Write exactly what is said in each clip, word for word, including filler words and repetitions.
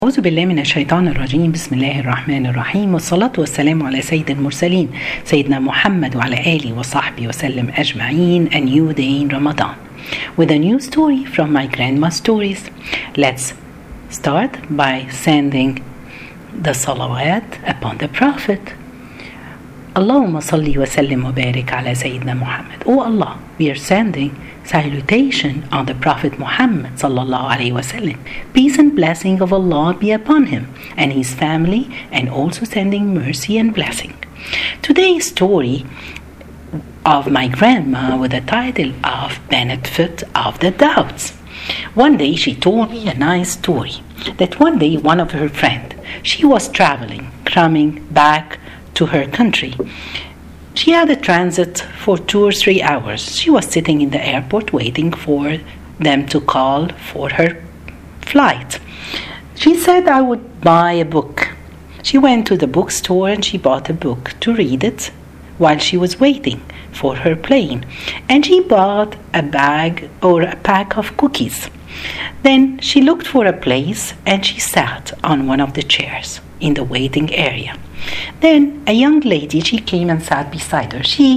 أعوذ بالله من الشيطان الرجيم. بسم الله الرحمن الرحيم، والصلاة والسلام على سيد المرسلين سيدنا محمد وعلى آله وصحبه وسلم أجمعين. A new day in Ramadan with a new story from my grandma's stories. Let's start by sending the salawat upon the Prophet. Allahumma salli wa sallim wa barik ala Sayyidina Muhammad. Oh Allah, we are sending salutation on the Prophet Muhammad sallallahu alaihi wasallam. Peace and blessing of Allah be upon him and his family, and also sending mercy and blessing. Today's story of my grandma with the title of Benefit of the Doubts. One day she told me a nice story that one day one of her friends, she was traveling, coming back to her country. She had a transit for two or three hours. She was sitting in the airport waiting for them to call for her flight. She said, I would buy a book. She went to the bookstore and she bought a book to read it while she was waiting for her plane. And she bought a bag or a pack of cookies. Then she looked for a place and she sat on one of the chairs in the waiting area. Then a young lady, she came and sat beside her. She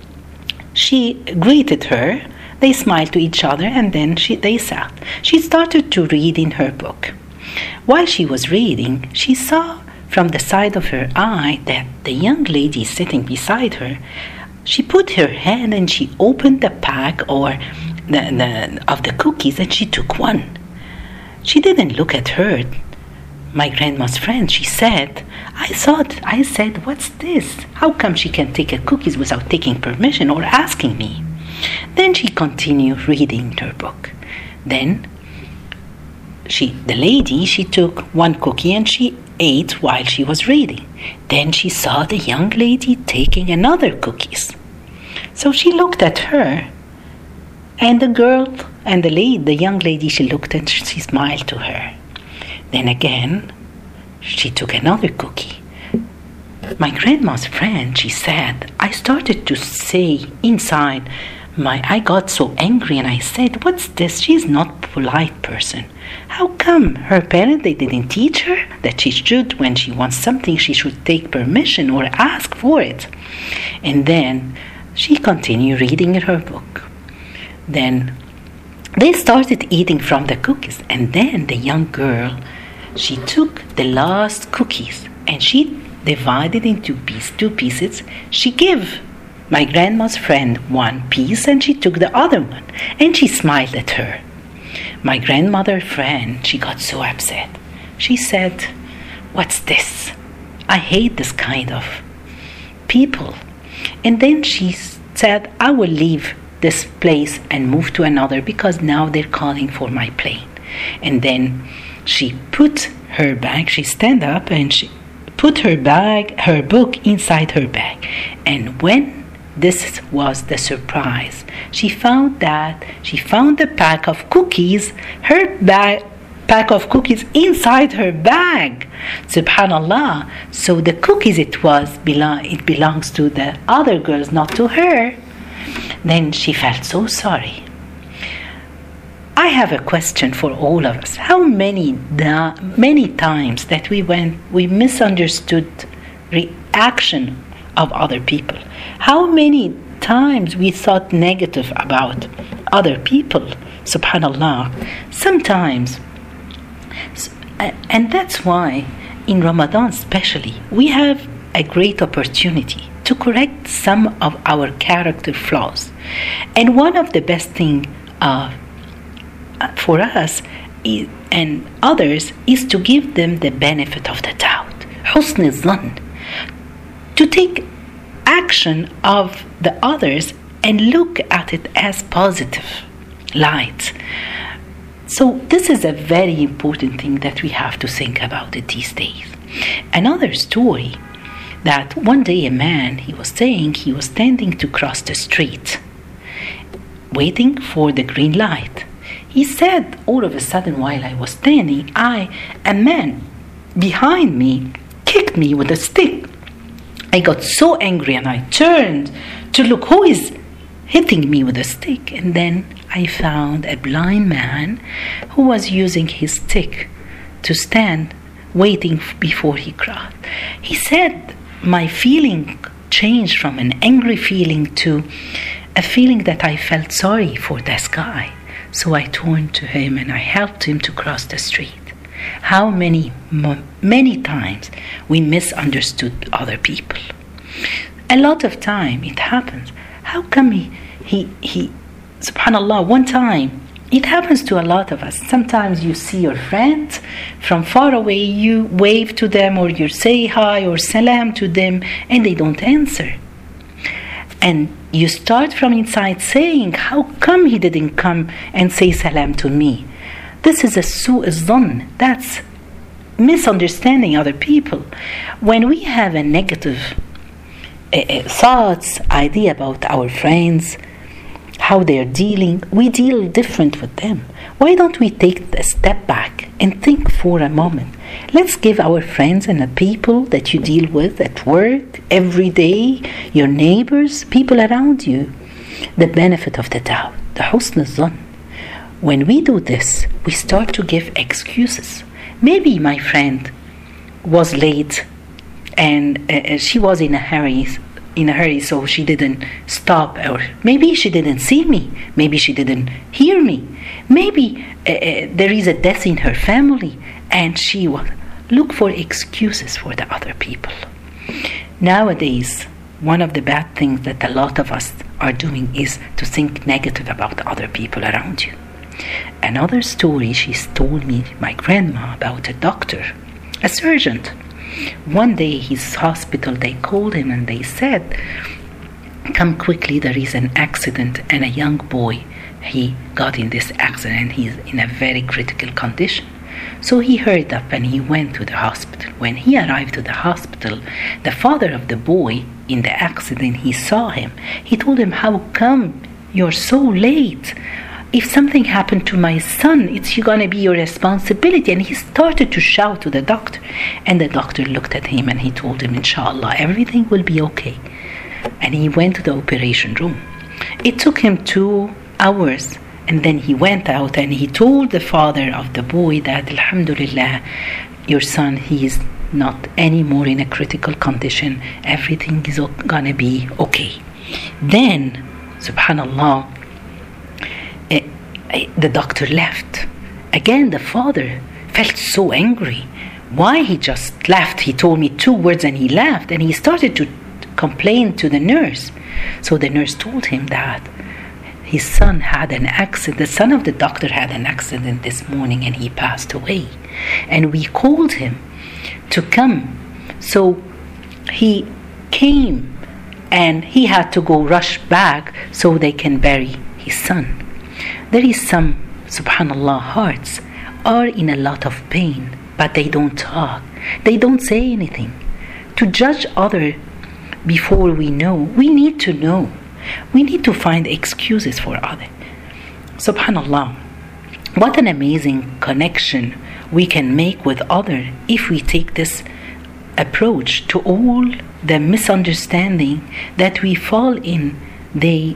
she greeted her. They smiled to each other and then she, they sat. She started to read in her book. While she was reading, she saw from the side of her eye that the young lady sitting beside her, she put her hand and she opened the pack or the, the of the cookies and she took one. She didn't look at her, my grandma's friend. She said, I thought, I said, what's this? How come she can take a cookies without taking permission or asking me? Then she continued reading her book. Then she, the lady, she took one cookie and she ate while she was reading. Then she saw the young lady taking another cookies. So she looked at her, and the girl and the lady, the young lady, she looked and she smiled to her. Then again, she took another cookie. My grandma's friend, she said, I started to say inside, my, I got so angry and I said, what's this? She's not a polite person. How come her parents, they didn't teach her that she should, when she wants something, she should take permission or ask for it? And then she continued reading in her book. Then they started eating from the cookies. And then the young girl, she took the last cookies and she divided into piece, two pieces. She gave my grandma's friend one piece and she took the other one and she smiled at her. My grandmother friend, she got so upset. She said, what's this? I hate this kind of people. And then she said, I will leave this place and move to another because now they're calling for my plane. And then she put her bag, she stand up and she put her bag, her book inside her bag. And when this was the surprise, she found that she found the pack of cookies, her bag, pack of cookies inside her bag. Subhanallah. So the cookies, it was belong, it belongs to the other girls, not to her. Then she felt so sorry. I have a question for all of us. How many da- many times that we went, we misunderstood reaction of other people? How many times we thought negative about other people? Subhanallah. Sometimes, and that's why in Ramadan especially, we have a great opportunity to correct some of our character flaws. And one of the best things uh, for us is, and others, is to give them the benefit of the doubt. حسن الظن. To take action of the others and look at it as positive light. So this is a very important thing that we have to think about it these days. Another story, that one day a man, he was saying he was standing to cross the street, waiting for the green light. He said, all of a sudden while I was standing, I, a man behind me kicked me with a stick. I got so angry and I turned to look who is hitting me with a stick. And then I found a blind man who was using his stick to stand waiting before he crossed. He said, my feeling changed from an angry feeling to a feeling that I felt sorry for this guy. So I turned to him and I helped him to cross the street. How many, many times we misunderstood other people. A lot of time it happens. How come he, he, he, subhanAllah, one time, it happens to a lot of us. Sometimes you see your friends from far away, you wave to them or you say hi or salam to them and they don't answer. And you start from inside saying, how come he didn't come and say salam to me? This is a su'u zan. That's misunderstanding other people. When we have a negative uh, uh, thoughts, idea about our friends, how they're dealing, we deal different with them. Why don't we take a step back and think for a moment? Let's give our friends and the people that you deal with at work, every day, your neighbors, people around you, the benefit of the doubt, the husn al-zan. When we do this, we start to give excuses. Maybe my friend was late and uh, she was in a hurry, in a hurry, so she didn't stop, or maybe she didn't see me, maybe she didn't hear me, maybe uh, uh, there is a death in her family and she will look for excuses for the other people. Nowadays, one of the bad things that a lot of us are doing is to think negative about other people around you. Another story she told me, my grandma, about a doctor, a surgeon. One day his hospital, they called him and they said, come quickly, there is an accident and a young boy, he got in this accident, he's in a very critical condition. So he hurried up and he went to the hospital. When he arrived to the hospital, the father of the boy in the accident, he saw him. He told him, how come you're so late? If something happened to my son, it's going to be your responsibility. And he started to shout to the doctor. And the doctor looked at him and he told him, inshallah, everything will be okay. And he went to the operation room. It took him two hours. And then he went out and he told the father of the boy that, alhamdulillah, your son, he is not anymore in a critical condition. Everything is going to be okay. Then, subhanallah, uh, the doctor left. Again, the father felt so angry. Why he just left? He told me two words and he left. And he started to complain to the nurse. So the nurse told him that his son had an accident. The son of the doctor had an accident this morning and he passed away. And we called him to come. So he came and he had to go rush back so they can bury his son. There is some, subhanallah, hearts are in a lot of pain, but they don't talk. They don't say anything. To judge others before we know, we need to know. We need to find excuses for others. Subhanallah, what an amazing connection we can make with others if we take this approach to all the misunderstanding that we fall in day,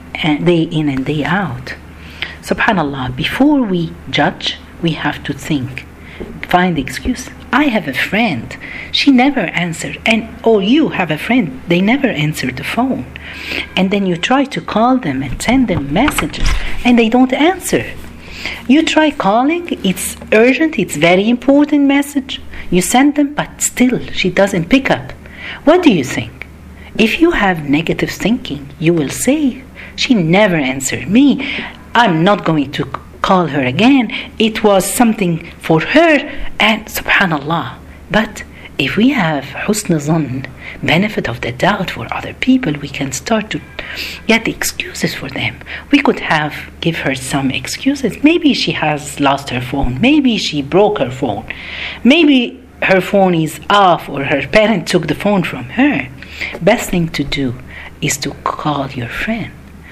day in and day out. Subhanallah, before we judge, we have to think, find excuse. I have a friend, she never answered, and or you have a friend, they never answered the phone. And then you try to call them and send them messages, and they don't answer. You try calling, it's urgent, it's very important message. You send them, but still she doesn't pick up. What do you think? If you have negative thinking, you will say, she never answered me. I'm not going to call her again. It was something for her, and subhanallah. But if we have husn zan, benefit of the doubt for other people, we can start to get excuses for them. We could have give her some excuses. Maybe she has lost her phone. Maybe she broke her phone. Maybe her phone is off or her parent took the phone from her. Best thing to do is to call your friend.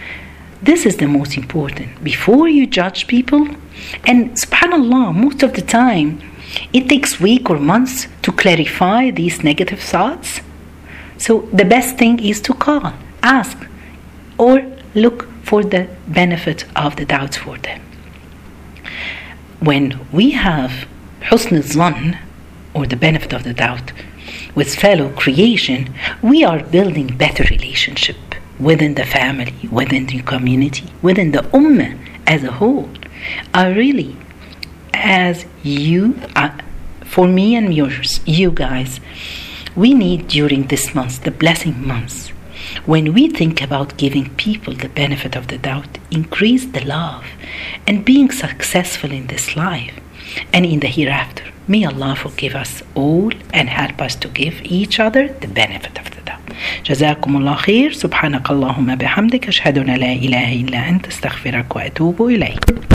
This is the most important. Before you judge people, and subhanallah, most of the time, it takes weeks or months to clarify these negative thoughts. So the best thing is to call, ask, or look for the benefit of the doubts for them. When we have حسن الظن or the benefit of the doubt with fellow creation, we are building better relationship within the family, within the community, within the ummah as a whole. I really, as you, uh, for me and yours, you guys, we need during this month, the blessing months, when we think about giving people the benefit of the doubt, increase the love and being successful in this life and in the hereafter. May Allah forgive us all and help us to give each other the benefit of the doubt. جزاكم الله خير. سبحانك اللهم بحمدك أشهد أن لا إله إلا أنت استغفرك وأتوب إليك.